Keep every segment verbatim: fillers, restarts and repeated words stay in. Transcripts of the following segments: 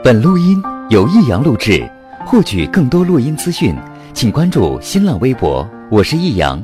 本录音由易阳录制，获取更多录音资讯，请关注新浪微博，我是易阳。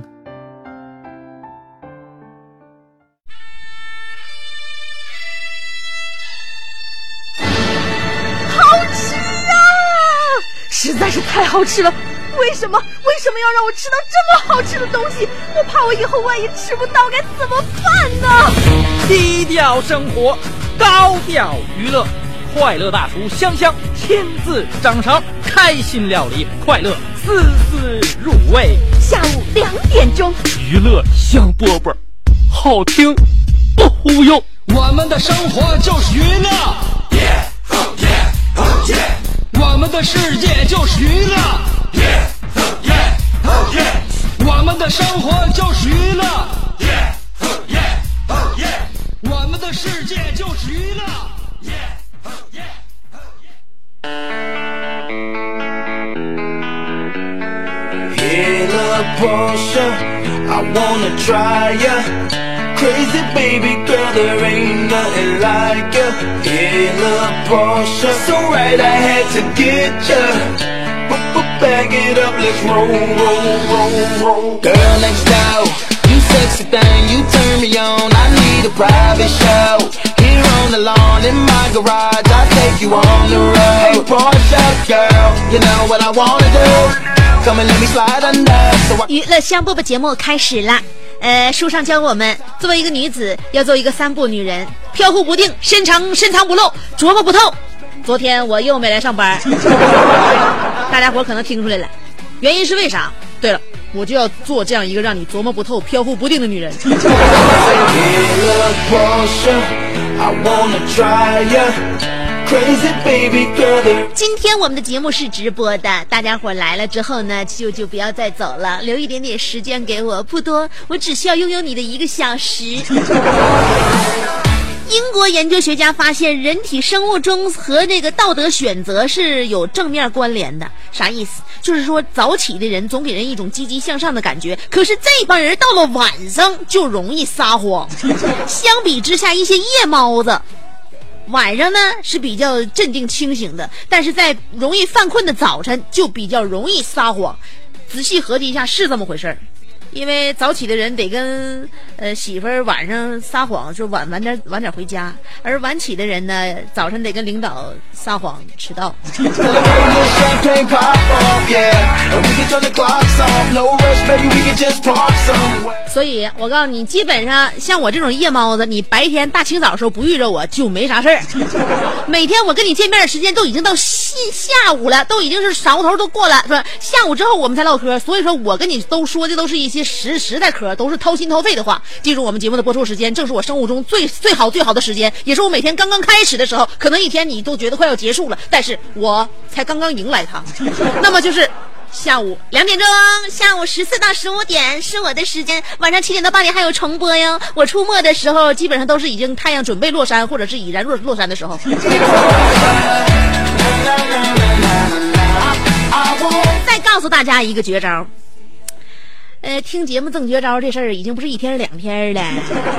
好吃啊！实在是太好吃了。为什么为什么要让我吃到这么好吃的东西？我怕我以后万一吃不到该怎么办呢？ 低调生活，高调娱乐，快乐大厨香香亲自掌勺，开心料理，快乐丝丝入味。 下午两点钟， 娱乐香饽饽，好听不忽悠。 我们的生活就是娱乐， yeah, oh yeah, oh yeah. 我们的世界就是娱乐， yeah, oh yeah, oh yeah. 我们的生活就是娱乐， yeah, oh yeah, oh yeah. 我们的世界就是娱乐， yeah, oh yeah, oh yeah. In a Porsche, I wanna try ya. Crazy baby girl, there ain't nothing like ya. In a Porsche, so right I had to get ya. Back it up, let's roll, roll, roll, roll. Girl next door, you sexy thing, you turn me on. I need a private show. Here on the lawn in my garage, I'll take you on the road. Hey Porsche girl, you know what I wanna do. Come and let me slide under. So I... 娱乐香饽饽节目开始啦。呃，书上教我们，作为一个女子，要做一个三不女人，飘忽不定，深藏深藏不露，琢磨不透。昨天我又没来上班，大家伙可能听出来了，原因是为啥？对了，我就要做这样一个让你琢磨不透、飘忽不定的女人。今天我们的节目是直播的，大家伙来了之后呢，就就不要再走了，留一点点时间给我，不多，我只需要拥有你的一个小时。英国研究学家发现，人体生物钟和这个道德选择是有正面关联的。啥意思？就是说早起的人总给人一种积极向上的感觉，可是这帮人到了晚上就容易撒谎。相比之下，一些夜猫子晚上呢是比较镇定清醒的，但是在容易犯困的早晨就比较容易撒谎。仔细合计一下，是这么回事儿。因为早起的人得跟呃媳妇儿晚上撒谎，说晚晚点晚点回家，而晚起的人呢，早晨得跟领导撒谎迟到。所以我告诉你，基本上像我这种夜猫子，你白天大清早的时候不遇着我就没啥事儿。每天我跟你见面的时间都已经到下午了，都已经是晌午头都过了，是吧？下午之后我们才唠嗑，所以说我跟你都说的都是一些实实在嗑，都是掏心掏肺的话。记住我们节目的播出时间，正是我生物钟最最好最好的时间，也是我每天刚刚开始的时候，可能一天你都觉得快要结束了，但是我才刚刚迎来它。那么就是下午两点钟，下午十四到十五点是我的时间，晚上七点到八点还有重播哟。我出没的时候基本上都是已经太阳准备落山，或者是已然落落山的时候。再告诉大家一个绝招，呃，听节目赠绝招这事儿已经不是一天两天了。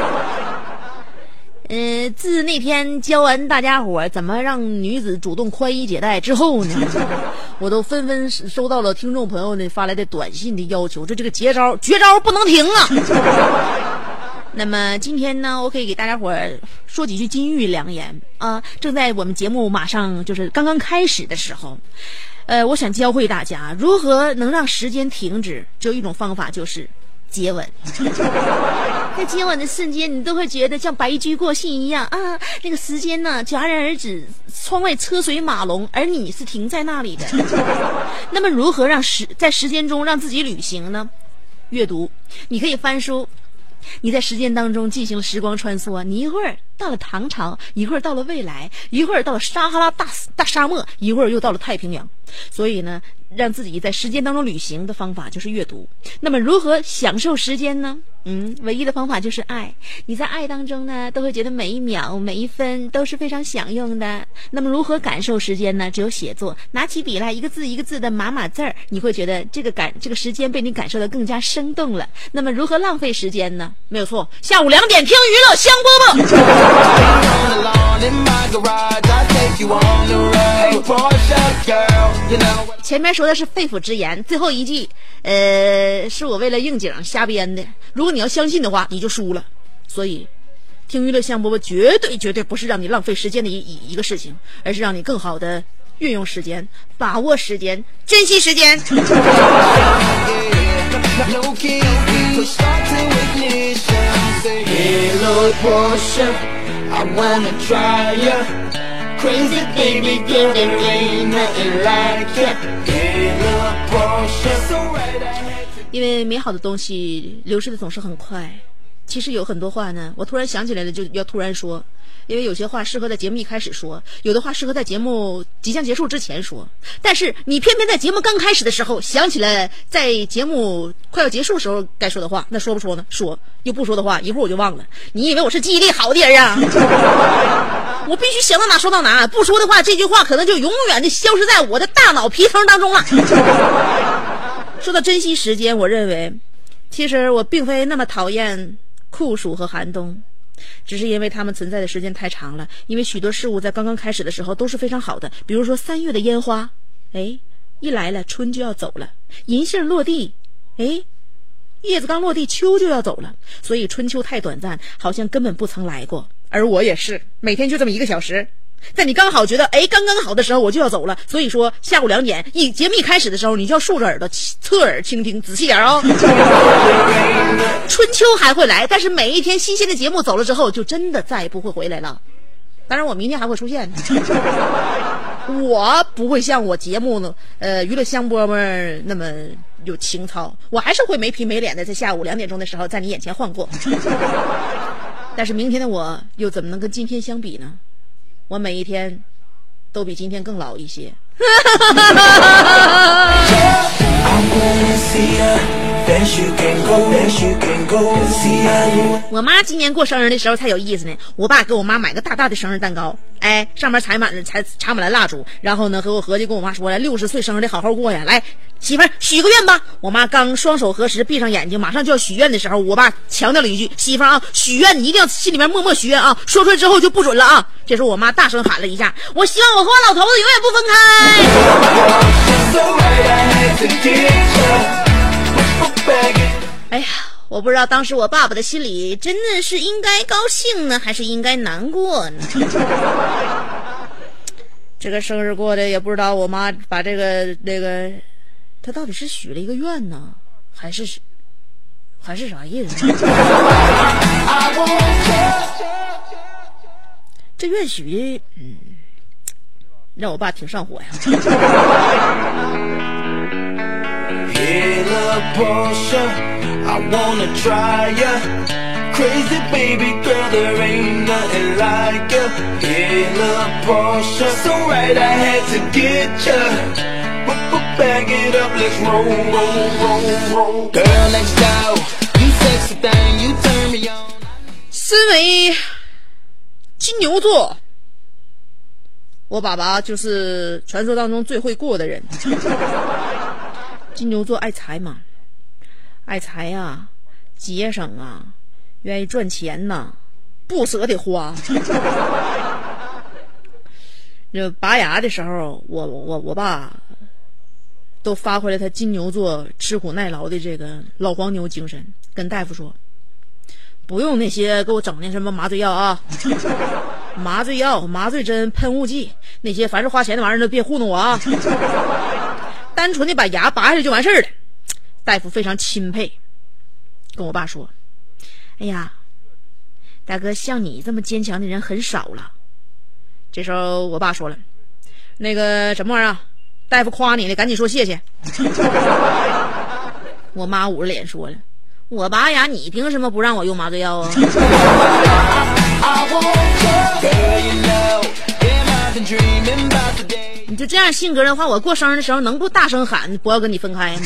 呃，自那天教完大家伙怎么让女子主动宽衣解带之后呢，我都纷纷收到了听众朋友呢发来的短信的要求，这这个绝招绝招不能停啊！那么今天呢，我可以给大家伙说几句金玉良言啊！正在我们节目马上就是刚刚开始的时候，呃，我想教会大家如何能让时间停止，只有一种方法，就是接吻。在接吻的瞬间，你都会觉得像白驹过隙一样啊，那个时间呢戛然而止，窗外车水马龙，而你是停在那里的。那么如何让时在时间中让自己旅行呢？阅读，你可以翻书。你在时间当中进行了时光穿梭，你一会儿到了唐朝，一会儿到了未来，一会儿到了撒哈拉大大沙漠，一会儿又到了太平洋。所以呢，让自己在时间当中旅行的方法就是阅读。那么如何享受时间呢？嗯，唯一的方法就是爱。你在爱当中呢，都会觉得每一秒每一分都是非常享用的。那么如何感受时间呢？只有写作，拿起笔来，一个字一个字的码码字儿，你会觉得这个感这个时间被你感受得更加生动了。那么如何浪费时间呢？没有错，下午两点听娱乐香饽饽。 前面说的是肺腑之言，最后一句呃，是我为了应景瞎编的，如果你要相信的话你就输了。所以听娱乐香饽饽绝对绝对不是让你浪费时间的一一个事情，而是让你更好的运用时间，把握时间，珍惜时间。Crazy baby girl, there ain't nothing like it. 因为美好的东西流逝的总是很快，其实有很多话呢，我突然想起来了就要突然说，因为有些话适合在节目一开始说，有的话适合在节目即将结束之前说，但是你偏偏在节目刚开始的时候想起来在节目快要结束的时候该说的话，那说不说呢？说，又不说的话一会儿我就忘了。你以为我是记忆力好的人啊？我必须想到哪说到哪，不说的话这句话可能就永远的消失在我的大脑皮层当中了。说到珍惜时间，我认为其实我并非那么讨厌酷暑和寒冬，只是因为它们存在的时间太长了。因为许多事物在刚刚开始的时候都是非常好的，比如说三月的烟花，哎，一来了春就要走了，银杏落地，哎，叶子刚落地秋就要走了，所以春秋太短暂，好像根本不曾来过。而我也是每天就这么一个小时，在你刚好觉得哎刚刚好的时候我就要走了，所以说下午两点一节目一开始的时候你就要竖着耳朵侧耳倾听，仔细点哦。春秋还会来，但是每一天新鲜的节目走了之后就真的再也不会回来了。当然我明天还会出现，我不会像我节目呢呃娱乐香饽饽那么有情操，我还是会没皮没脸的在下午两点钟的时候在你眼前晃过。但是明天的我又怎么能跟今天相比呢？我每一天都比今天更老一些。我妈今年过生日的时候才有意思呢，我爸给我妈买个大大的生日蛋糕，哎，上面插满了插插满了蜡烛，然后呢和我合计跟我妈说了，六十岁生日得好好过呀，来媳妇儿许个愿吧。我妈刚双手合十闭上眼睛马上就要许愿的时候，我爸强调了一句，媳妇儿啊，许愿你一定要心里面默默许愿啊，说出来之后就不准了啊。这时候我妈大声喊了一下，我希望我和我老头子永远不分开。哎呀，我不知道当时我爸爸的心里真的是应该高兴呢还是应该难过呢。这个生日过的也不知道我妈把这个那个她到底是许了一个愿呢还是还是啥意思？这愿许的嗯让我爸挺上火呀。 I wanna try ya, crazy baby girl, there ain't nothing like ya. In a Porsche, so right I had to get ya. Bag it up, let's roll, roll, roll, roll. Girl next door, you sexy thing, you turn me on. 身为金牛座，我爸爸就是传说当中最会过的人。金牛座爱财嘛。爱财呀、啊，节省啊，愿意赚钱呐、啊，不舍得花。就拔牙的时候，我我我爸都发挥了他金牛座吃苦耐劳的这个老黄牛精神，跟大夫说，不用那些给我整那什么麻醉药啊，麻醉药、麻醉针、喷雾剂，那些凡是花钱的玩意儿都别糊弄我啊，单纯的把牙拔下来就完事儿了。大夫非常钦佩，跟我爸说，哎呀大哥，像你这么坚强的人很少了。这时候我爸说了，那个什么玩意儿啊，大夫夸你呢，赶紧说谢谢。我妈捂着脸说了，我拔牙你凭什么不让我用麻醉药啊？你就这样性格的话，我过生日的时候能不大声喊不要跟你分开吗？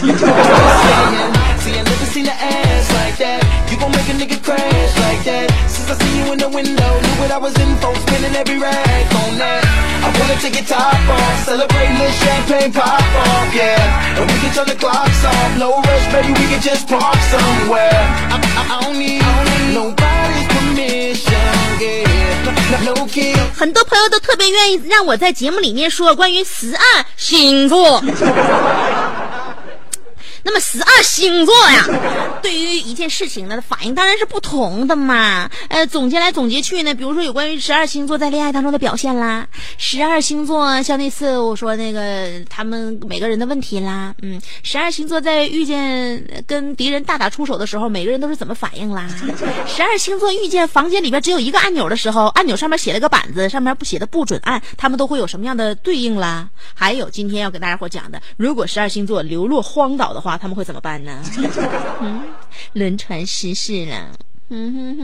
很多朋友都特别愿意让我在节目里面说关于十二星座。那么十二星座呀，对于一件事情呢，反应当然是不同的嘛。呃，总结来总结去呢，比如说有关于十二星座在恋爱当中的表现啦，十二星座像那次我说那个他们每个人的问题啦，嗯，十二星座在遇见跟敌人大打出手的时候，每个人都是怎么反应啦？十二星座遇见房间里边只有一个按钮的时候，按钮上面写了个板子，上面不写的不准按，他们都会有什么样的对应啦？还有今天要给大家伙讲的，如果十二星座流落荒岛的话，他们会怎么办呢？嗯，轮船失事了。嗯哼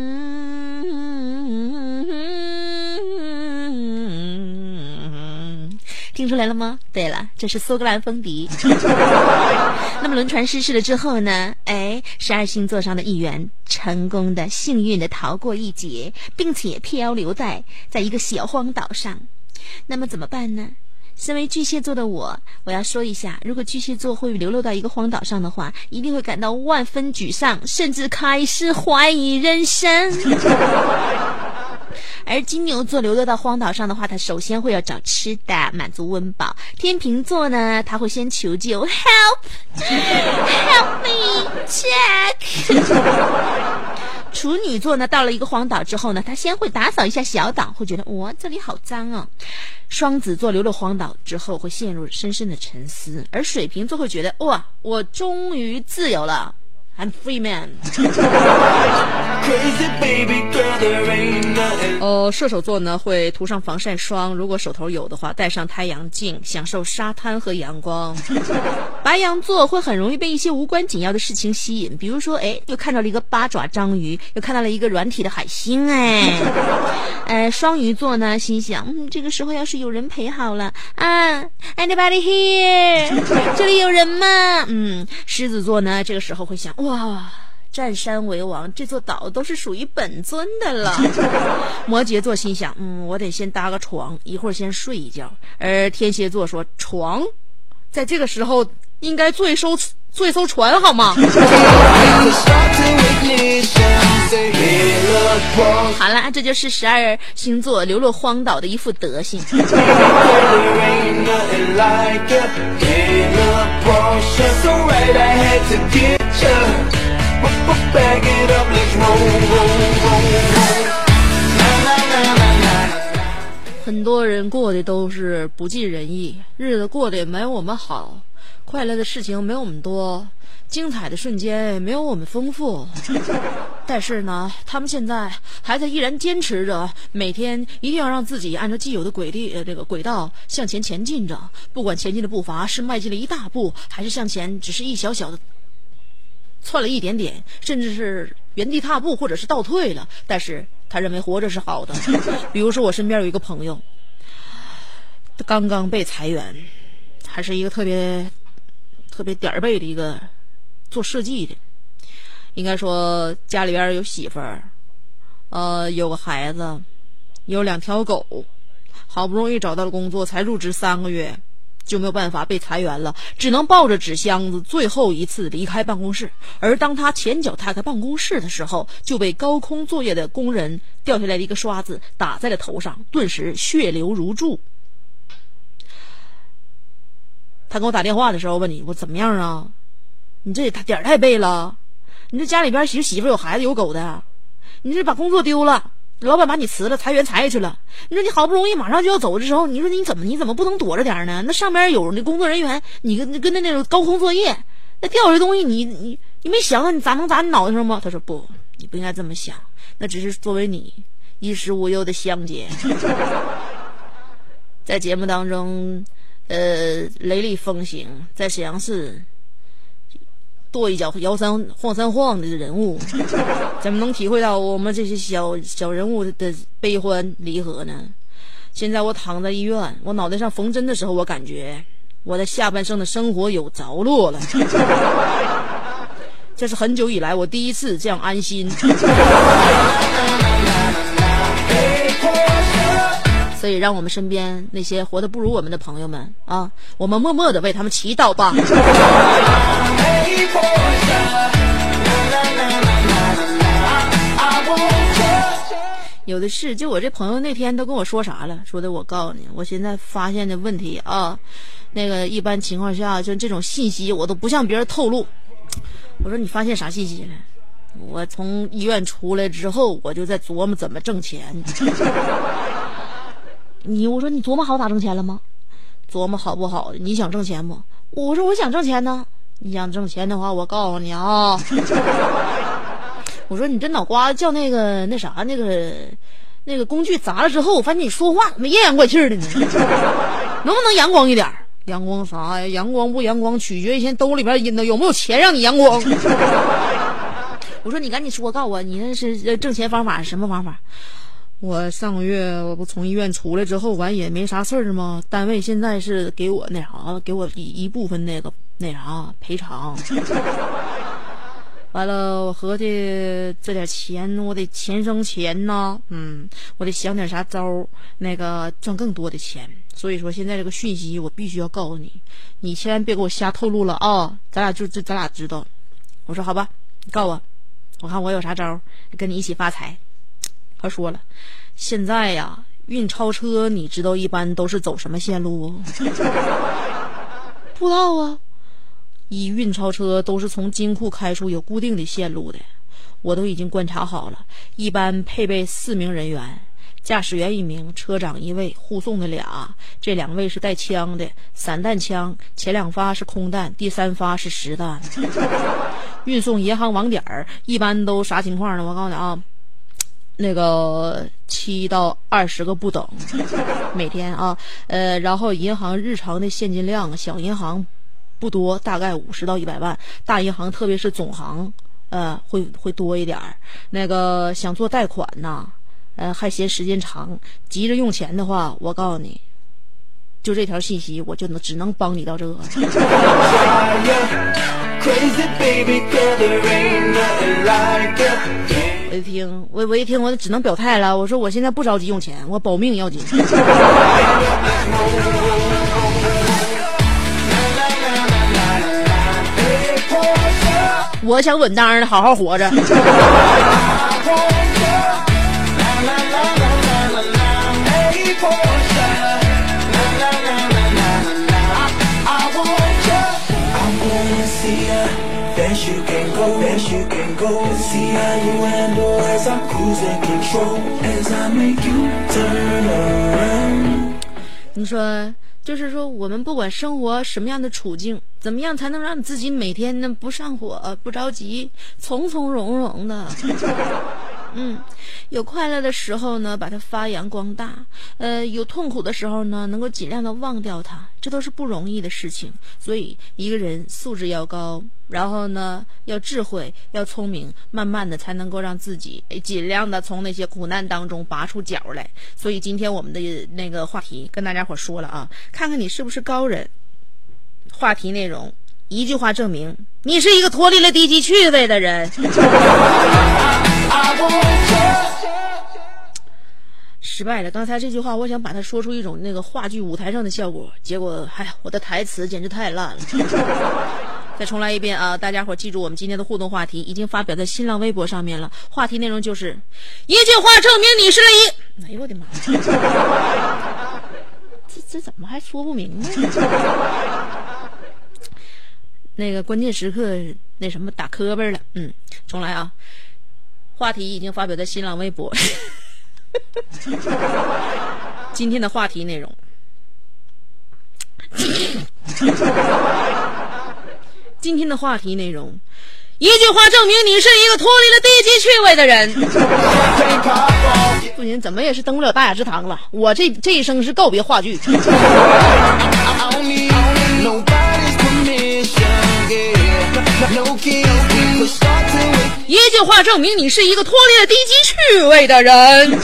哼，听出来了吗？对了，这是苏格兰风笛。那么轮船失事了之后呢？哎，十二星座上的一员成功的、幸运的逃过一劫，并且漂流在在一个小荒岛上。那么怎么办呢？身为巨蟹座的我，我要说一下，如果巨蟹座会流落到一个荒岛上的话，一定会感到万分沮丧，甚至开始怀疑人生。而金牛座流落到荒岛上的话，他首先会要找吃的，满足温饱。天秤座呢，他会先求救 ，help help me Jack。处女座呢，到了一个荒岛之后呢，他先会打扫一下小岛，会觉得哇，这里好脏啊。双子座流落荒岛之后会陷入深深的沉思，而水瓶座会觉得哇，我终于自由了。I'm free man。 哦，射手座呢会涂上防晒霜，如果手头有的话戴上太阳镜，享受沙滩和阳光。白羊座会很容易被一些无关紧要的事情吸引，比如说哎，又看到了一个八爪章鱼，又看到了一个软体的海星。哎，呃，双鱼座呢心想，嗯，这个时候要是有人陪好了啊 ，Anybody here？ 这里有人吗？嗯，狮子座呢这个时候会想，哇，占山为王，这座岛都是属于本尊的了。摩羯座心想，嗯，我得先搭个床，一会儿先睡一觉。而天蝎座说，床在这个时候应该坐一艘坐一艘船好吗？好了，这就是十二星座流落荒岛的一副德行。很多人过的都是不尽人意，日子过得也没有我们好，快乐的事情没有我们多，精彩的瞬间也没有我们丰富。但是呢，他们现在还在依然坚持着，每天一定要让自己按照既有的轨地呃这个轨道向前前进着，不管前进的步伐是迈进了一大步，还是向前只是一小小的窜了一点点，甚至是原地踏步或者是倒退了，但是他认为活着是好的。比如说我身边有一个朋友，刚刚被裁员，还是一个特别特别点儿背的一个做设计的，应该说家里边有媳妇儿，呃，有个孩子，有两条狗，好不容易找到了工作，才入职三个月，就没有办法被裁员了，只能抱着纸箱子最后一次离开办公室。而当他前脚踏开办公室的时候，就被高空作业的工人掉下来的一个刷子打在了头上，顿时血流如注。他给我打电话的时候问你，我怎么样啊？你这也点儿太背了，你这家里边媳媳妇有孩子有狗的，你这把工作丢了，老板把你辞了，裁员裁下去了。你说你好不容易马上就要走的时候，你说你怎么你怎么不能躲着点呢？那上边有那工作人员，你跟跟那那种高空作业，那掉下来东西你你你没想到你砸能砸你脑袋上吗？他说不，你不应该这么想，那只是作为你衣食无忧的香姐。在节目当中呃雷厉风行，在沈阳市跺一脚摇三晃三晃的人物，怎么能体会到我们这些小小人物的悲欢离合呢？现在我躺在医院，我脑袋上缝针的时候，我感觉我的下半生的生活有着落了。这是很久以来我第一次这样安心。所以让我们身边那些活得不如我们的朋友们啊，我们默默地为他们祈祷吧。 有的是。就我这朋友那天都跟我说啥了，说的我告诉你，我现在发现的问题啊，那个一般情况下就这种信息我都不向别人透露。我说你发现啥信息了？我从医院出来之后，我就在琢磨怎么挣钱。你我说你琢磨好咋挣钱了吗？琢磨好不好？你想挣钱不？我说我想挣钱呢。你想挣钱的话，我告诉你啊，我说你这脑瓜子叫那个那啥那个那个工具砸了之后，我发现你说话怎么阴阳怪气的呢？能不能阳光一点？阳光啥呀？阳光不阳光取决于现在兜里边有没有钱让你阳光。我说你赶紧说，告诉我你那是挣钱方法是什么方法？我上个月我不从医院出来之后，完也没啥事儿吗？单位现在是给我那啥，给我一一部分那个那啥赔偿。完了，我合计这点钱我得钱生钱呐，嗯，我得想点啥招，那个赚更多的钱。所以说现在这个讯息我必须要告诉你，你千万别给我瞎透露了啊！咱俩就就咱俩知道。我说好吧，你告诉我，我看我有啥招跟你一起发财。他说了，现在呀，运钞车你知道一般都是走什么线路？不知道啊。一运钞车都是从金库开出有固定的线路的，我都已经观察好了，一般配备四名人员，驾驶员一名，车长一位，护送的俩，这两位是带枪的，散弹枪，前两发是空弹，第三发是实弹。运送银行网点儿一般都啥情况呢？我告诉你啊，那个七到二十个不等，每天啊，呃，然后银行日常的现金量，小银行不多，大概五十到一百万，大银行特别是总行，呃，会会多一点儿。那个想做贷款呐，呃，还嫌时间长，急着用钱的话，我告诉你，就这条信息，我就能只能帮你到这个。我一听，我我一听，我只能表态了。我说我现在不着急用钱，我保命要紧。我想稳当的好好活着。你说就是说我们不管生活什么样的处境，怎么样才能让你自己每天呢不上火不着急，从从容容的。嗯，有快乐的时候呢把它发扬光大，呃，有痛苦的时候呢能够尽量的忘掉它，这都是不容易的事情。所以一个人素质要高，然后呢要智慧要聪明，慢慢的才能够让自己尽量的从那些苦难当中拔出脚来。所以今天我们的那个话题跟大家伙说了啊，看看你是不是高人。话题内容一句话证明你是一个脱离了低级趣味的人。失败了，刚才这句话我想把它说出一种那个话剧舞台上的效果，结果哎，我的台词简直太烂了。再重来一遍啊！大家伙记住，我们今天的互动话题已经发表在新浪微博上面了。话题内容就是一句话证明你是一……哎呦我的妈！这这怎么还说不明白呢？那个关键时刻那什么打磕巴了。嗯，重来啊！话题已经发表在新浪微博。今天的话题内容。今天的话题内容，一句话证明你是一个脱离了低级趣味的人。不行，怎么也是登不了大雅之堂了。我这这一生是告别话剧。一句话证明你是一个脱离了低级趣味的人。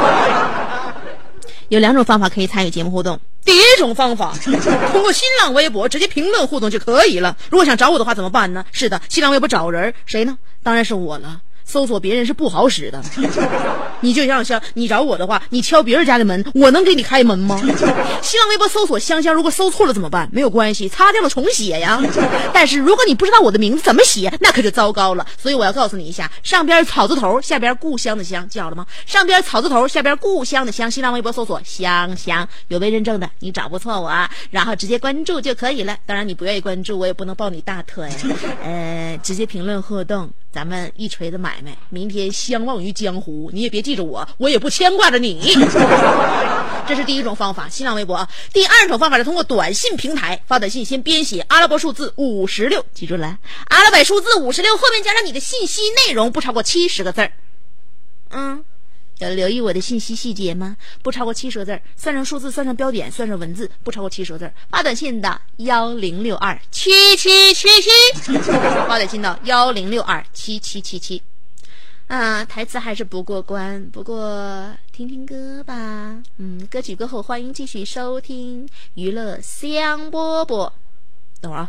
有两种方法可以参与节目互动。第一种方法，通过新浪微博直接评论互动就可以了。如果想找我的话怎么办呢？是的，新浪微博找人，谁呢？当然是我了。 搜索别人是不好使的。你就像像你找我的话，你敲别人家的门，我能给你开门吗？新浪微博搜索香香，如果搜错了怎么办？没有关系，擦掉了重写呀。但是如果你不知道我的名字怎么写，那可就糟糕了。所以我要告诉你一下，上边草字头，下边故乡的乡，记好了吗？上边草字头，下边故乡的乡，新浪微博搜索香香，有微认证的，你找不错我啊，然后直接关注就可以了。当然你不愿意关注，我也不能抱你大腿，呃，直接评论互动，咱们一锤子买卖，明天相忘于江湖。你也别记着我，我也不牵挂着你。这是第一种方法，新浪微博啊。第二种方法是通过短信平台发短信，先编写阿拉伯数字五十六，记住了，阿拉伯数字五十六后面加上你的信息内容，不超过七十个字儿。嗯，要留意我的信息细节吗？不超过七十个字，算上数字，算上标点，算上文字，不超过七十个字。发短信的幺零六二七七七七，发短信到幺零六二七七七七。啊，台词还是不过关，不过听听歌吧。嗯，歌曲过后欢迎继续收听娱乐香饽饽。等会儿啊。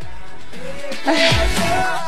哎。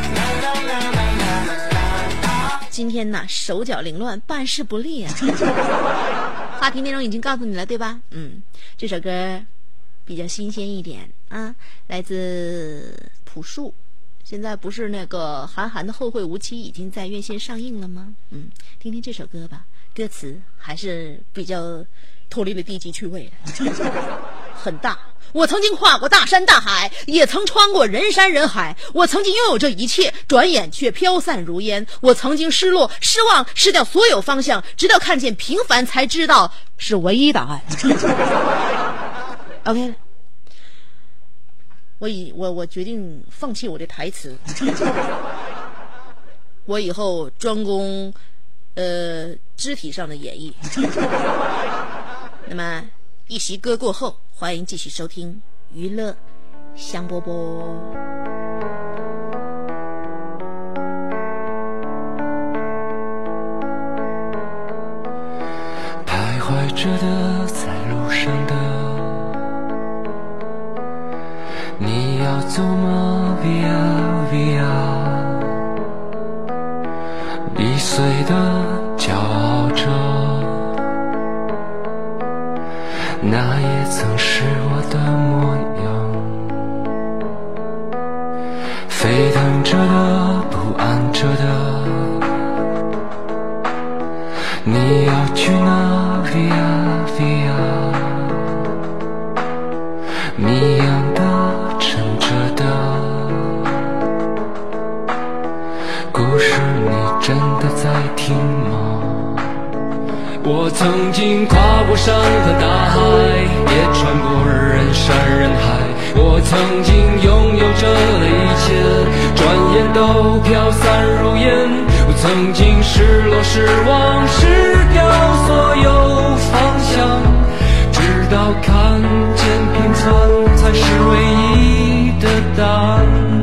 今天呢，手脚凌乱，办事不利啊。话题内容已经告诉你了，对吧？嗯，这首歌比较新鲜一点啊，来自朴树。现在不是那个韩寒的《后会无期》已经在院线上映了吗？嗯，听听这首歌吧，歌词还是比较脱离了低级趣味的，很大。我曾经跨过大山大海，也曾穿过人山人海，我曾经拥有这一切，转眼却飘散如烟。我曾经失落失望，失掉所有方向，直到看见平凡才知道是唯一答案。OK 了，我以我我决定放弃我的台词，我以后专攻呃肢体上的演绎。那么一席歌过后，欢迎继续收听娱乐香饽饽。 徘徊着的，在路上的，你要走吗 ？Via Via， 易碎的，骄傲着，那也曾是我的模样。沸腾着的，不安着的，你要去哪 ？Via Via， 谜样的，沉着的，故事你真的在听吗？我曾经跨过山和大海，也穿过人山人海。我曾经拥有着的一切，转眼都飘散如烟。我曾经失落失望，失掉所有方向，直到看见平凡才是唯一的答案。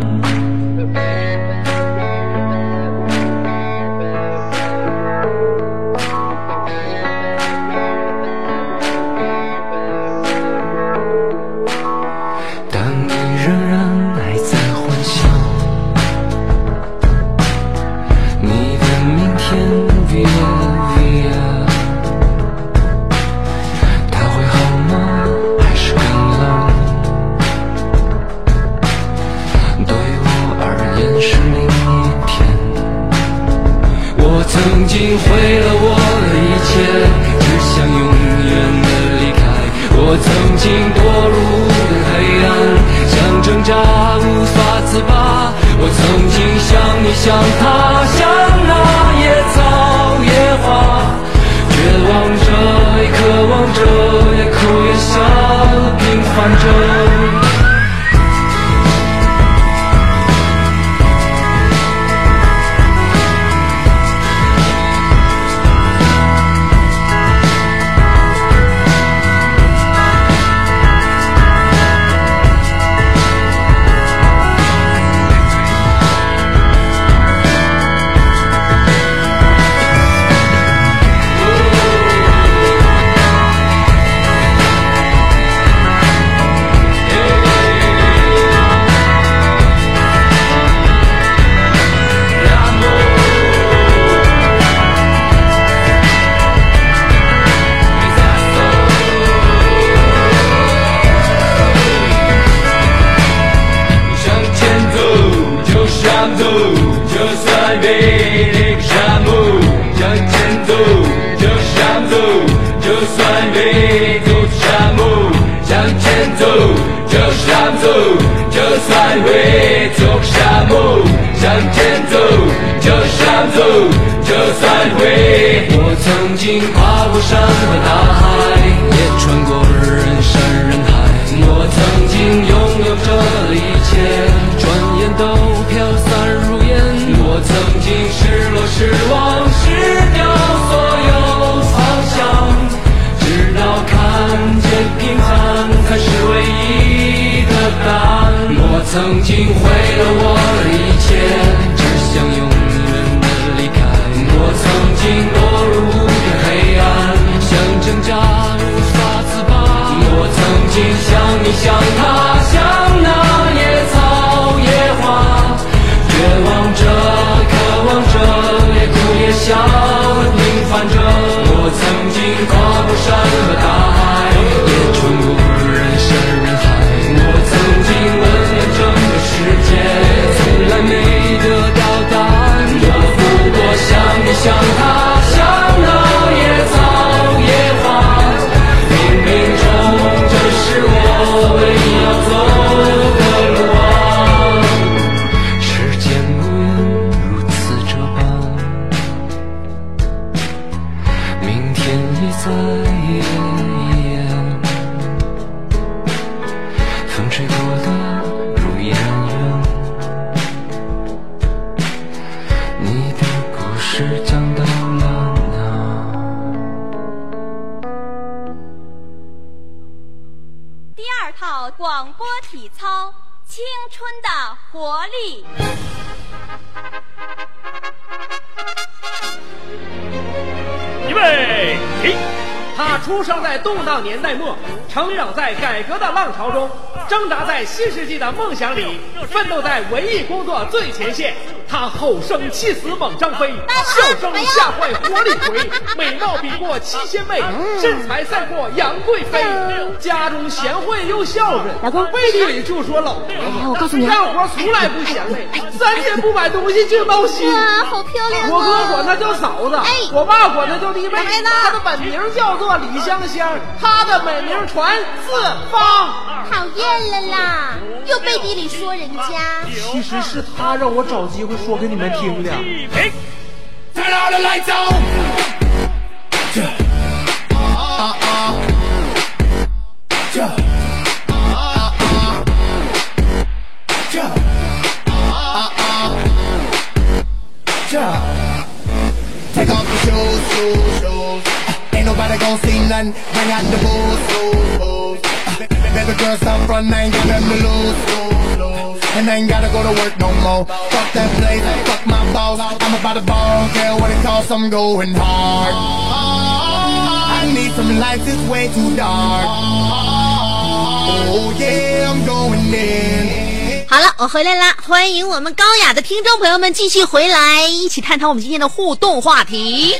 曾经毁了我的一切，只想永远的离开。我曾经堕入的黑暗，想挣扎无法自拔。我曾经像你像他，像那野草野花，绝望着也渴望着，也哭也笑，平凡着。Yeah. 前走，就是上走，就算会走沙漠。向前走，就上走，就算会。我曾经跨过山和大海，也穿过人山人海。我曾经拥有这一切，转眼都飘散如烟。我曾经失落失望失掉所有方向，直到看见平凡才是唯一的答案。我曾经毁了我的一切，只想永远的离开。我曾经堕入无边黑暗，想挣扎无法自拔。我曾经像你像他像那野草野花，绝望着渴望着也哭也笑平凡着。我曾经跨过山和大海，也穿过人山人海。我曾经问了整个世界，从来没得到答案。我不过像你像他像那野草野花，冥冥中这是我唯一要走的路啊。时间无言如此这般，明天也在眼前，风吹过的如依然远，你的故事讲到了哪？ 第二套广播体操，青春的活力。 预备起！他出生在动荡年代末，成长在改革的浪潮中，挣扎在新世纪的梦想里，奋斗在文艺工作最前线。他吼声气死猛张飞，笑声吓坏活李逵，美貌比过七仙妹，身材赛过杨贵妃。家中贤惠又孝顺， 老公背地里就说老婆。 哎，我告诉你， 干活从来不嫌累，三天不买东西就闹心。 哇，好漂亮啊！ 我哥管她叫嫂子， 哎， 我爸管她叫弟妹。 妹呢？ 她的本名叫做李香香，她的美名传四方。 讨厌了啦，又背地里说人家。 其实是他让我找机会说给你们听的。 Turn all the lights on. Take off the shoes, shoes, shoes. Ain't nobody gon' see nothing. Bring out the booze, booze, booze. Baby girl, stop front, I ain't got nothing to lose, lose, lose. And I ain't gotta go to work no more. Fuck that place, fuck my boss. I'm about to ball, care what it costs, I'm going hard. I need some lights, it's way too dark. Oh yeah, I'm going in. 好了，我回来啦！欢迎我们高雅的听众朋友们继续回来，一起探讨我们今天的互动话题。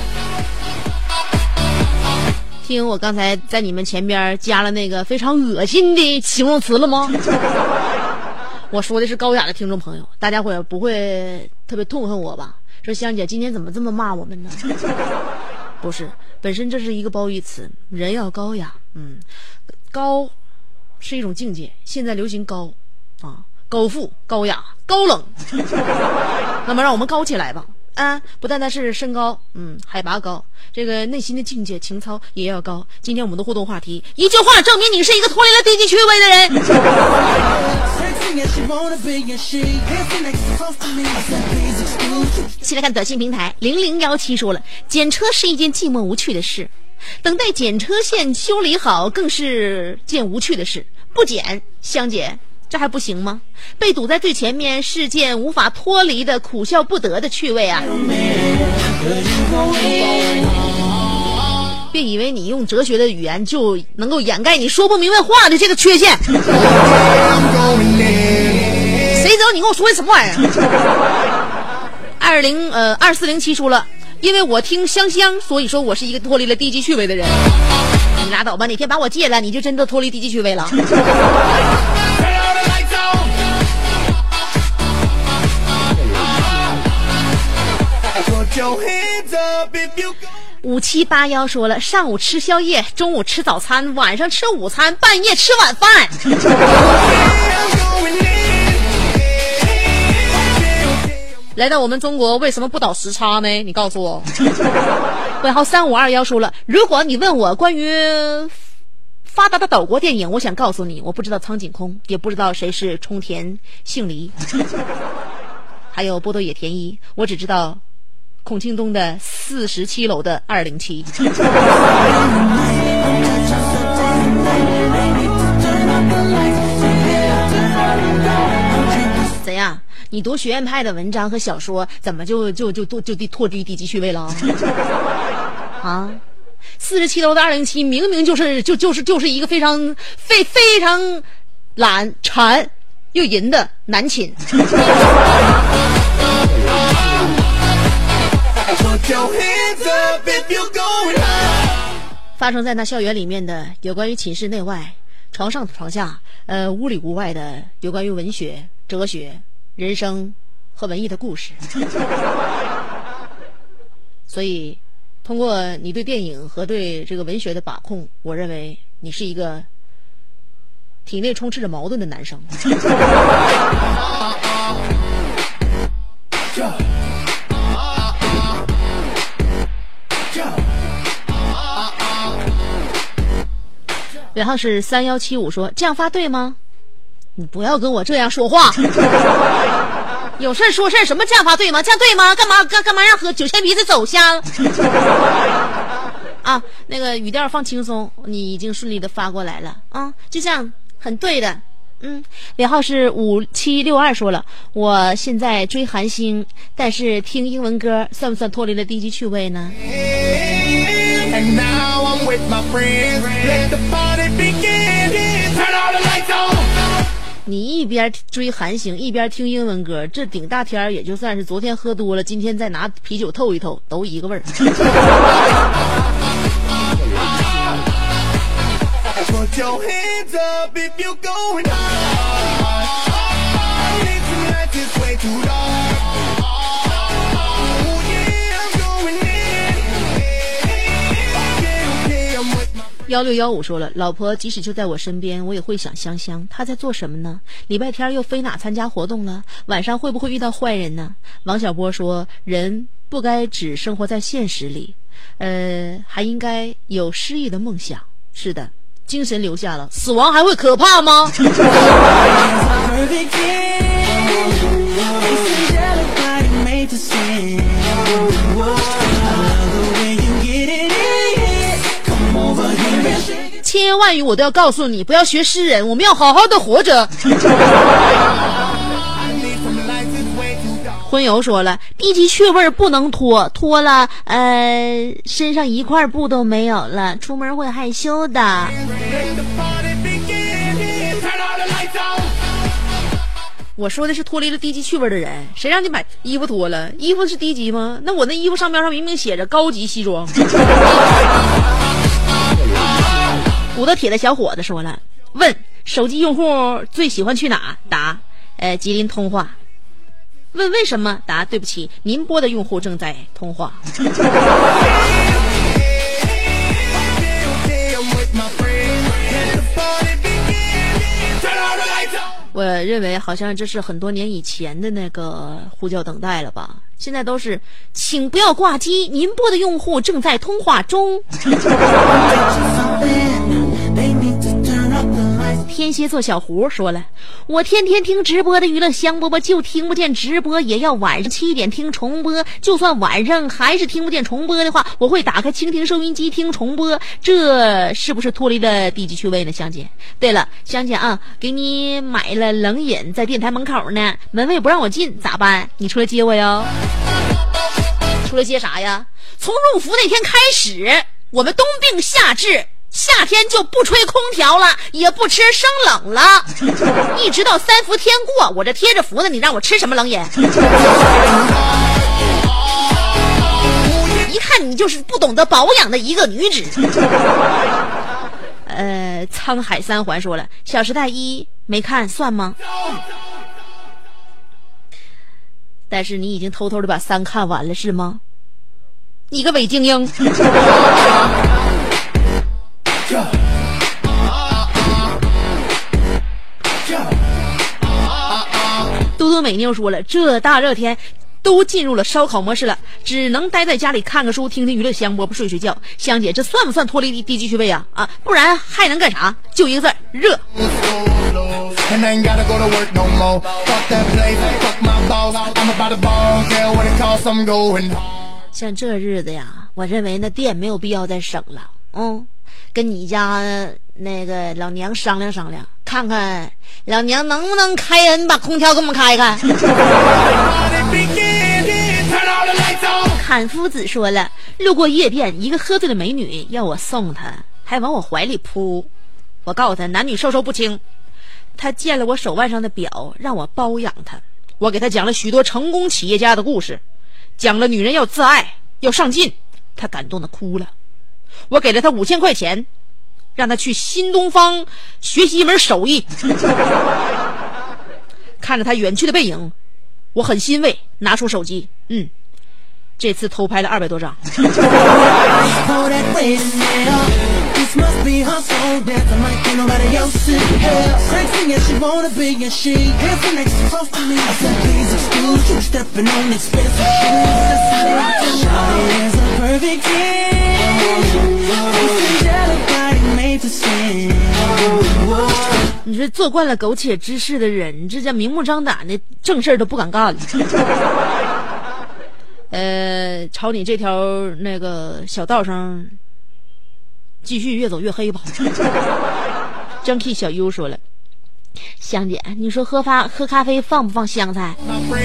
听我刚才在你们前边加了那个非常恶心的形容词了吗？我说的是高雅的听众朋友，大家伙不会特别痛恨我吧？说香姐今天怎么这么骂我们呢？不是，本身这是一个褒义词，人要高雅，嗯，高是一种境界，现在流行高啊，高富、高雅、高冷，那么让我们高起来吧。啊，不单单是身高，嗯，海拔高，这个内心的境界、情操也要高。今天我们的互动话题，一句话证明你是一个脱离了低级趣味的人。先来看短信平台，零零幺七说了，检车是一件寂寞无趣的事，等待检车线修理好更是件无趣的事。不检，香姐。这还不行吗？被堵在最前面是件无法脱离的苦笑不得的趣味啊！别以为你用哲学的语言就能够掩盖你说不明白话的这个缺陷。谁知道你跟我说的什么玩意儿？二零呃二四零七说了，因为我听香香，所以说我是一个脱离了低级趣味的人。你拉倒吧，哪天把我戒了，你就真的脱离低级趣味了。 五七八幺说了，上午吃宵夜，中午吃早餐，晚上吃午餐，半夜吃晚饭。来到我们中国为什么不倒时差呢？你告诉我。尾号三五二幺说了，如果你问我关于发达的岛国电影，我想告诉你，我不知道苍井空，也不知道谁是冲田杏梨，还有波多野田一，我只知道孔庆东的四十七楼的二零七。怎样？你读学院派的文章和小说，怎么就就就就就就脱离低级趣味了？啊，四十七楼的二零七明明就是就就是就是一个非常非非常懒馋又淫的男寝。发生在那校园里面的有关于寝室内外、床上床下、呃屋里屋外的有关于文学、哲学、人生和文艺的故事。所以通过你对电影和对这个文学的把控，我认为你是一个体内充斥着矛盾的男生。尾号是三幺七五说，这样发对吗？你不要跟我这样说话。有事说事，什么这样发对吗？这样对吗？干嘛干干嘛让和九千鼻子走瞎了？啊，那个语调放轻松，你已经顺利的发过来了啊，就这样很对的。嗯，尾号是五七六二说了，我现在追韩星，但是听英文歌算不算脱离了低级趣味呢？ And now I'm with my friends. Let the party begin. Turn all the lights on. 你一边追韩星一边听英文歌，这顶大天也就算是昨天喝多了，今天再拿啤酒透一透，都一个味儿。 Put your hands up if you're going high. Tonight is way too dark. Oh yeah, I'm going in. Okay, okay, I'm with my. 幺六幺五说了，老婆即使就在我身边，我也会想香香，她在做什么呢？礼拜天又飞哪参加活动了？晚上会不会遇到坏人呢？王小波说，人不该只生活在现实里，呃，还应该有诗意的梦想。是的，精神留下了，死亡还会可怕吗？千言万语我都要告诉你，不要学诗人，我们要好好的活着。荤油说了，低级趣味不能脱，脱了呃身上一块布都没有了，出门会害羞的。我说的是脱离了低级趣味的人，谁让你把衣服脱了？衣服是低级吗？那我那衣服上面上明明写着高级西装。武德铁的小伙子说了，问手机用户最喜欢去哪？答呃吉林通话。问为什么？答对不起，您拨的用户正在通话。我认为好像这是很多年以前的那个呼叫等待了吧，现在都是请不要挂机，您拨的用户正在通话中。天蝎座小胡说了，我天天听直播的娱乐香饽饽，就听不见直播，也要晚上七点听重播，就算晚上还是听不见重播的话，我会打开蜻蜓收音机听重播，这是不是脱离了低级趣味呢？香姐，对了，香姐啊，给你买了冷饮在电台门口呢，门卫不让我进，咋办？你出来接我哟。出来接啥呀？从入伏那天开始，我们冬病夏治，夏天就不吹空调了，也不吃生冷了，一直到三伏天过，我这贴着福呢，你让我吃什么冷饮？一看你就是不懂得保养的一个女子。呃，沧海三环说了，小时代一没看算吗？但是你已经偷偷的把三看完了是吗？ 你个伪精英。嘟嘟美妞说了，这大热天都进入了烧烤模式了，只能待在家里看个书，听听娱乐香饽饽，睡睡觉。香姐，这算不算脱离低级趣味啊？啊，不然还能干啥？就一个字，热。像这日子呀，我认为那店没有必要再省了。嗯，跟你家那个老娘商量商量，看看老娘能不能开恩把空调给我们开开。坎夫子说了，路过夜店，一个喝醉的美女要我送她，还往我怀里扑。我告诉她男女授受不亲。她见了我手腕上的表，让我包养她。我给她讲了许多成功企业家的故事，讲了女人要自爱要上进，她感动的哭了。我给了她五千块钱，让她去新东方学习一门手艺。看着她远去的背影，我很欣慰，拿出手机，嗯，这次偷拍了二百多张。你是做惯了苟且之事的人，这叫明目张胆的正事都不敢干了。呃，朝你这条那个小道上继续越走越黑吧。张 K 小优说了，香姐，你说喝发喝咖啡放不放香菜？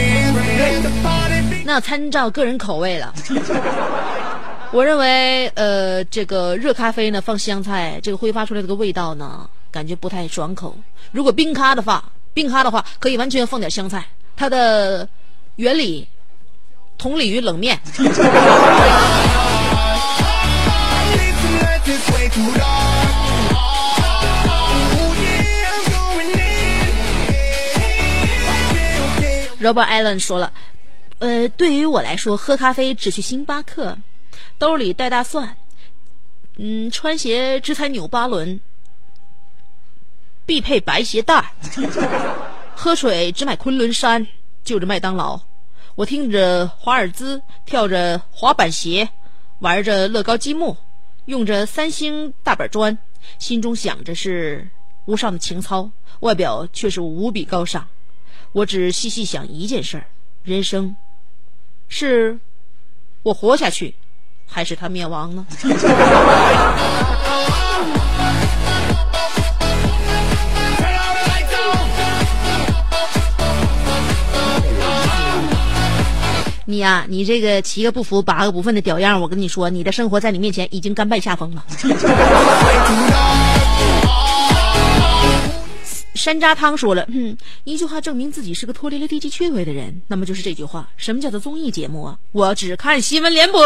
那参照个人口味了。我认为呃这个热咖啡呢放香菜，这个挥发出来这个味道呢感觉不太爽口。如果冰咖的话冰咖的话可以完全放点香菜，它的原理同理于冷面。Robert Allen 说了，呃，对于我来说，喝咖啡只去星巴克，兜里带大蒜，嗯，穿鞋只踩纽巴伦，必配白鞋带，喝水只买昆仑山，就着麦当劳。我听着华尔兹，跳着滑板鞋，玩着乐高积木，用着三星大板砖，心中想着是无上的情操，外表却是无比高尚。我只细细想一件事儿，人生是我活下去还是他灭亡呢？你呀、啊，你这个七个不服八个不忿的屌样，我跟你说，你的生活在你面前已经甘拜下风了。山楂汤说了，嗯，一句话证明自己是个脱离了低级趣味的人，那么就是这句话。什么叫做综艺节目啊？我只看新闻联播。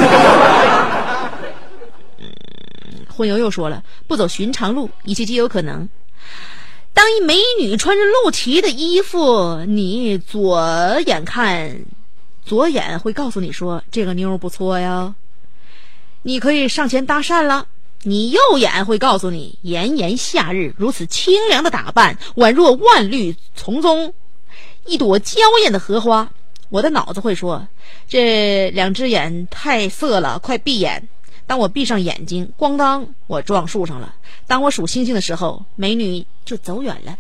嗯，混友又说了，不走寻常路，一切皆有可能。当一美女穿着露脐的衣服，你左眼看，左眼会告诉你说这个妞不错呀，你可以上前搭讪了。你右眼会告诉你，炎炎夏日如此清凉的打扮，宛若万绿丛中一朵娇艳的荷花。我的脑子会说，这两只眼太色了，快闭眼。当我闭上眼睛，咣当，我撞树上了。当我数星星的时候，美女就走远了。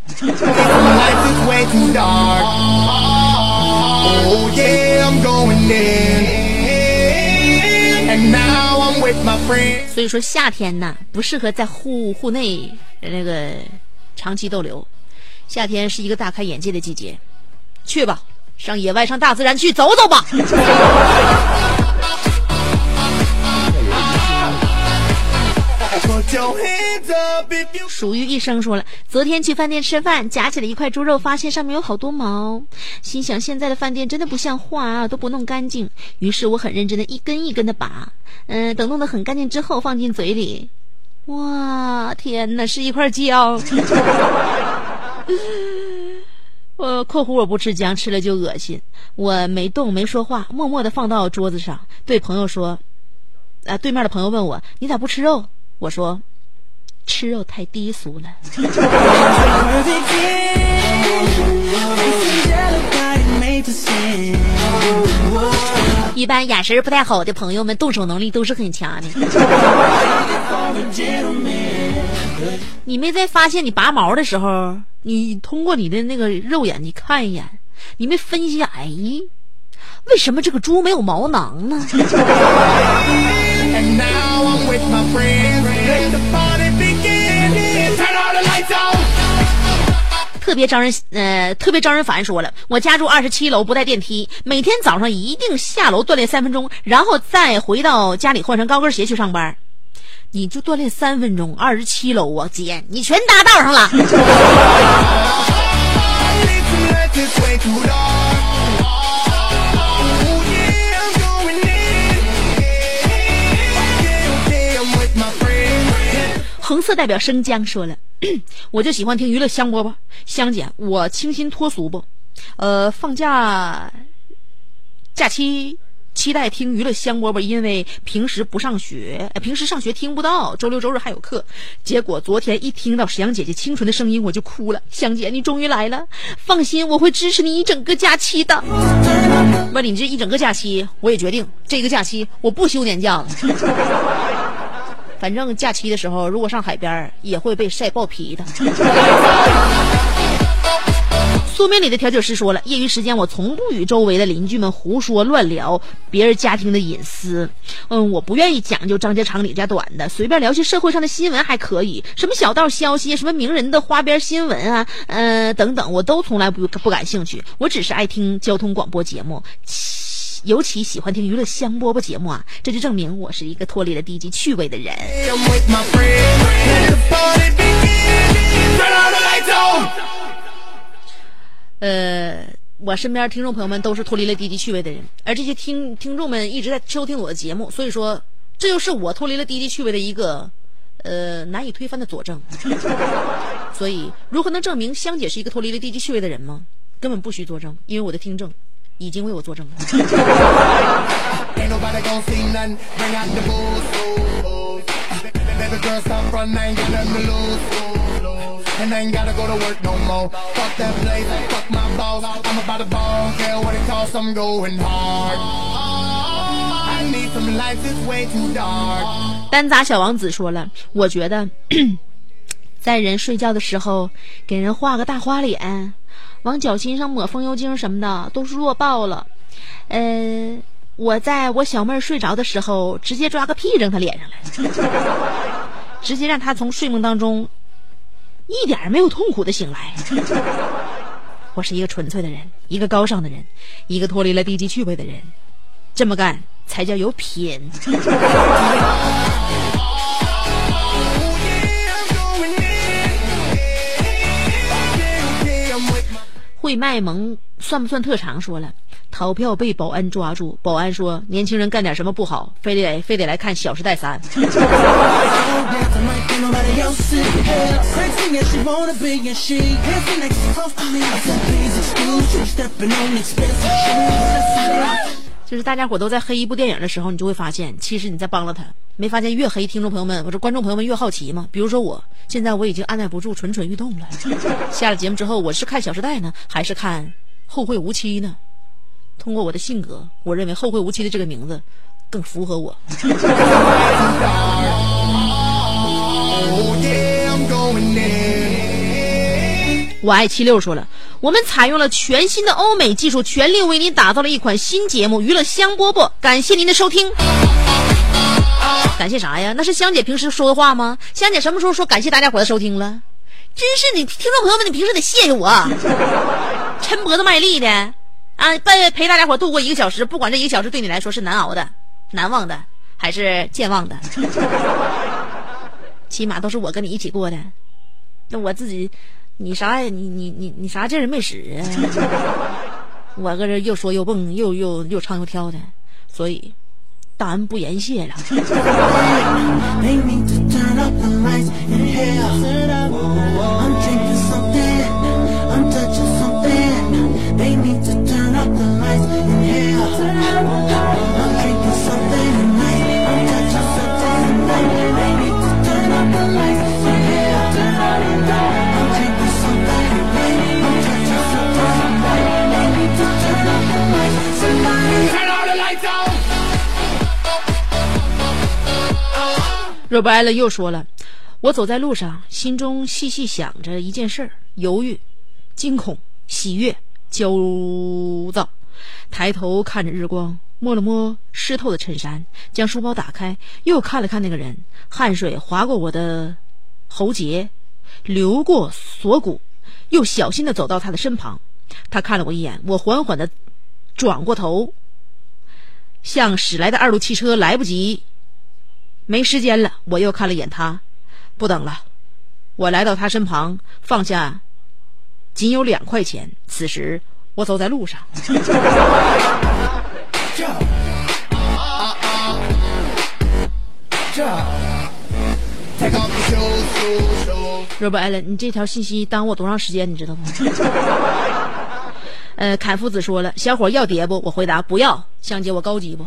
所以说夏天呢不适合在户户内那个长期逗留，夏天是一个大开眼界的季节，去吧，上野外上大自然去走走吧。属于一生说了，昨天去饭店吃饭，夹起了一块猪肉，发现上面有好多毛，心想现在的饭店真的不像话啊，都不弄干净。于是我很认真的一根一根的拔，嗯、呃，等弄得很干净之后放进嘴里，哇，天哪，是一块姜。 我括弧我不吃姜，吃了就恶心。我没动没说话，默默地放到桌子上，对朋友说啊，对面的朋友问我你咋不吃肉？我说吃肉太低俗了。一般眼神不太好的朋友们动手能力都是很强的。你没在发现你拔毛的时候，你通过你的那个肉眼你看一眼，你没分析哎，为什么这个猪没有毛囊呢？特别招人呃，特别招人烦。说了，我家住二十七楼，不带电梯，每天早上一定下楼锻炼三分钟，然后再回到家里换上高跟鞋去上班。你就锻炼三分钟，二十七楼啊，姐，你全搭道上了。红色代表生姜说了，我就喜欢听娱乐香饽饽。香姐，我清新脱俗不？呃，放假假期期待听娱乐香饽饽，因为平时不上学，平时上学听不到，周六周日还有课。结果昨天一听到香姐姐清纯的声音，我就哭了。香姐，你终于来了，放心，我会支持你一整个假期的。不，你这一整个假期，我也决定这个假期我不休年假了。反正假期的时候，如果上海边也会被晒爆皮的。苏梅里的调酒师说了，业余时间我从不与周围的邻居们胡说乱聊别人家庭的隐私。嗯，我不愿意讲究张家长李家短的，随便聊些社会上的新闻还可以，什么小道消息，什么名人的花边新闻啊，呃等等，我都从来不不感兴趣。我只是爱听交通广播节目，尤其喜欢听娱乐香饽饽节目啊，这就证明我是一个脱离了低级趣味的人。呃，我身边听众朋友们都是脱离了低级趣味的人，而这些听听众们一直在收听我的节目，所以说这就是我脱离了低级趣味的一个呃难以推翻的佐证。所以如何能证明香姐是一个脱离了低级趣味的人吗？根本不需作证，因为我的听证已经为我作证了。And I ain't gotta go to work no more. Fuck that place, fuck my boss. I'm about to ball, care what it costs, I'm going hard. I need some lights, it's way too dark. 单杂小王子说了，我觉得在人睡觉的时候给人画个大花脸，往脚心上抹风油精什么的都是弱爆了。呃，我在我小妹睡着的时候直接抓个屁扔她脸上来，直接让她从睡梦当中一点没有痛苦的醒来。我是一个纯粹的人，一个高尚的人，一个脱离了低级趣味的人，这么干才叫有品。会卖萌算不算特长？说了，逃票被保安抓住，保安说年轻人干点什么不好，非得非得来看《小时代三》。就是大家伙都在黑一部电影的时候，你就会发现其实你在帮了他。没发现越黑听众朋友们或者观众朋友们越好奇吗？比如说我现在我已经按耐不住蠢蠢欲动了。下了节目之后，我是看《小时代》呢还是看《后会无期》呢？通过我的性格，我认为《后会无期》的这个名字更符合我。我爱七六说了，我们采用了全新的欧美技术，全力为您打造了一款新节目《娱乐香饽饽》，感谢您的收听。感谢啥呀？那是香姐平时说的话吗？香姐什么时候说感谢大家伙的收听了？真是你听众朋友们，你平时得谢谢我，抻脖子卖力的啊，陪陪大家伙度过一个小时，不管这一个小时对你来说是难熬的、难忘的还是健忘的，起码都是我跟你一起过的。那我自己，你啥呀？你你你你啥劲儿没使啊？我搁这又说又蹦，又又又唱又跳的，所以大恩不言谢了。 若不艾伦又说了，我走在路上，心中细细想着一件事儿，犹豫、惊恐、喜悦、焦躁。抬头看着日光，摸了摸湿透的衬衫，将书包打开，又看了看那个人，汗水划过我的喉结，流过锁骨，又小心地走到他的身旁。他看了我一眼，我缓缓地转过头，向驶来的二路汽车来不及，没时间了，我又看了眼他，不等了。我来到他身旁，放下仅有两块钱。此时我走在路上。若不艾伦，你这条信息耽误我多长时间，你知道吗？呃，侃夫子说了，小伙要碟不？我回答不要。香姐，我高级不？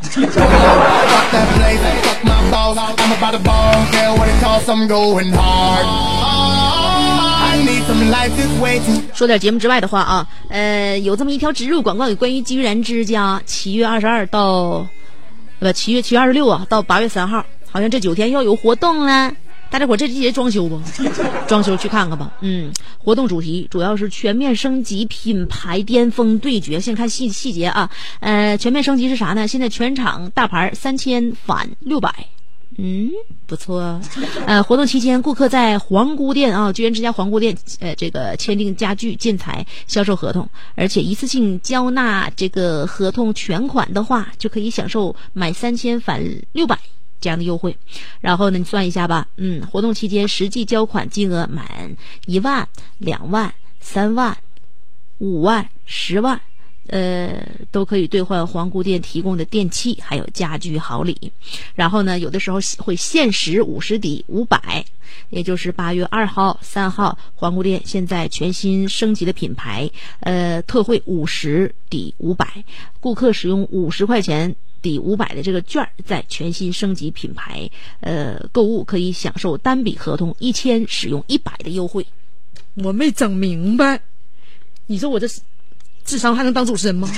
说点节目之外的话啊，呃，有这么一条植入广告，有关于居然之家，七月二十二到呃七月七月二十六啊，到八月三号，好像这九天要有活动了。大家伙这季节装修不？装修去看看吧。嗯，活动主题主要是全面升级，品牌巅峰对决。先看细细节啊，呃，全面升级是啥呢？现在全场大牌三千返六百。嗯，不错。呃，活动期间，顾客在皇姑店啊，居然之家皇姑店，呃，这个签订家具建材销售合同，而且一次性交纳这个合同全款的话，就可以享受买三千返六百这样的优惠。然后呢，你算一下吧，嗯，活动期间实际交款金额满一万、两万、三万、五万、十万。呃，都可以兑换皇姑店提供的电器还有家居好礼。然后呢，有的时候会限时五十抵五百，也就是八月二号、三号，皇姑店现在全新升级的品牌，呃，特惠五十抵五百，顾客使用五十块钱抵五百的这个券，在全新升级品牌呃购物可以享受单笔合同一千使用一百的优惠。我没整明白，你说我这智商还能当主持人吗？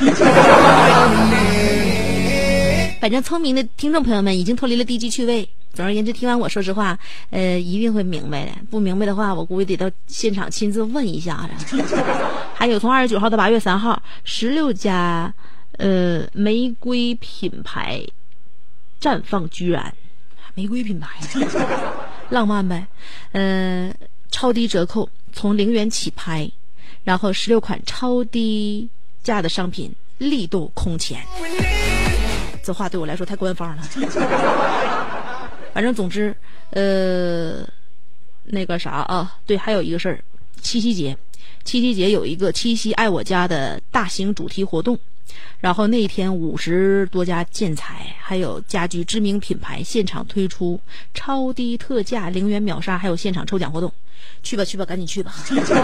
反正聪明的听众朋友们已经脱离了低级趣味。总而言之，听完我说实话，呃，一定会明白的。不明白的话，我估计得到现场亲自问一下子。还有从二十九号到八月三号，十六家呃玫瑰品牌绽放居然，玫瑰品牌，浪漫呗。呃，超低折扣，从零元起拍。然后十六款超低价的商品力度空前，这话对我来说太官方了。反正总之，呃，那个啥啊，对，还有一个事儿，七夕节，七夕节有一个七夕爱我家的大型主题活动，然后那一天五十多家建材还有家居知名品牌现场推出超低特价、零元秒杀，还有现场抽奖活动。去吧去吧，赶紧去吧！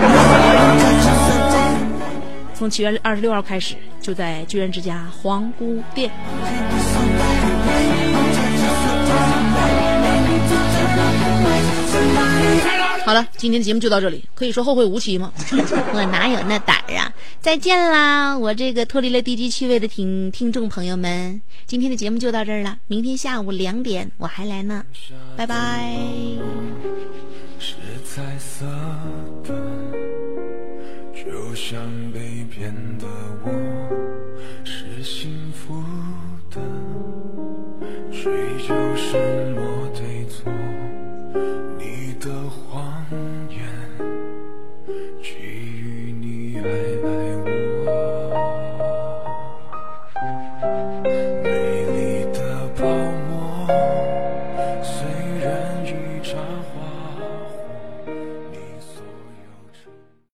从七月二十六号开始，就在居然之家皇姑店。好了，今天的节目就到这里，可以说后会无期吗？我哪有那胆儿啊！再见啦，我这个脱离了低级趣味的听听众朋友们，今天的节目就到这儿了，明天下午两点我还来呢，拜拜。 是彩色的，就像被骗的我，是幸福的，追求什么